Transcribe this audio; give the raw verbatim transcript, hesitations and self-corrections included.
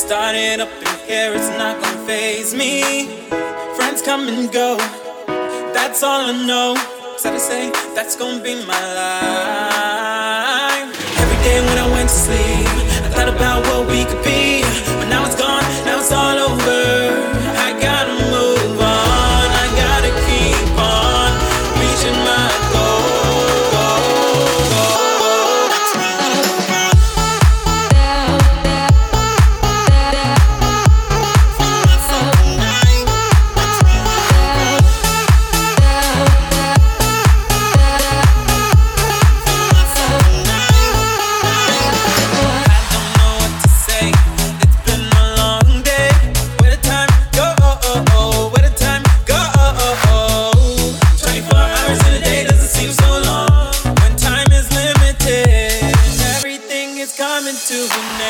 Started up in here, it's not gonna faze me. Friends come and go, that's all I know. Sad to say, that's gonna be my life. Every day when I went to sleep, I thought about what we could be. But now it's gone, now it's all over. I gotta move on, I gotta keep on reaching my goal. To an